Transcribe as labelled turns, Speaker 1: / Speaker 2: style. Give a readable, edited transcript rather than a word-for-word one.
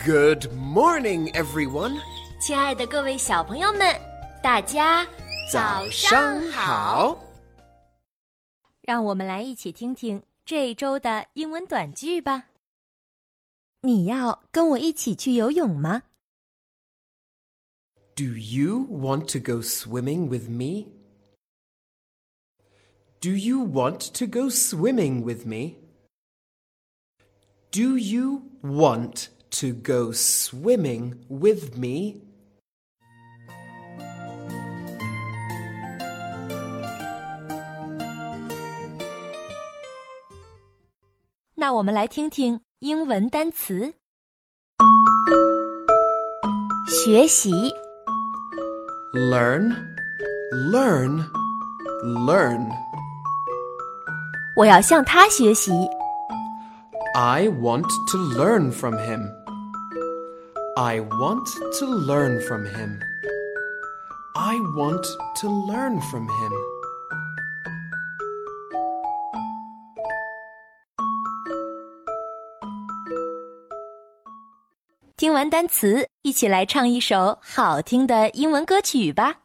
Speaker 1: Good morning, everyone.
Speaker 2: 亲爱的各位小朋友们，大家早上好。让我们来一起听听这一周的英文短句吧。你要跟我一起去游泳吗？
Speaker 1: Do you want to go swimming with me? Do you want to go swimming with me? Do you want to go swimming with me? 那我们来听听英文单词。学习
Speaker 3: Learn, learn, learn.
Speaker 2: 我要向他学习。
Speaker 3: I want to learn from him. I want to learn from him. I want to learn from him.
Speaker 2: 听完单词，一起来唱一首好听的英文歌曲吧。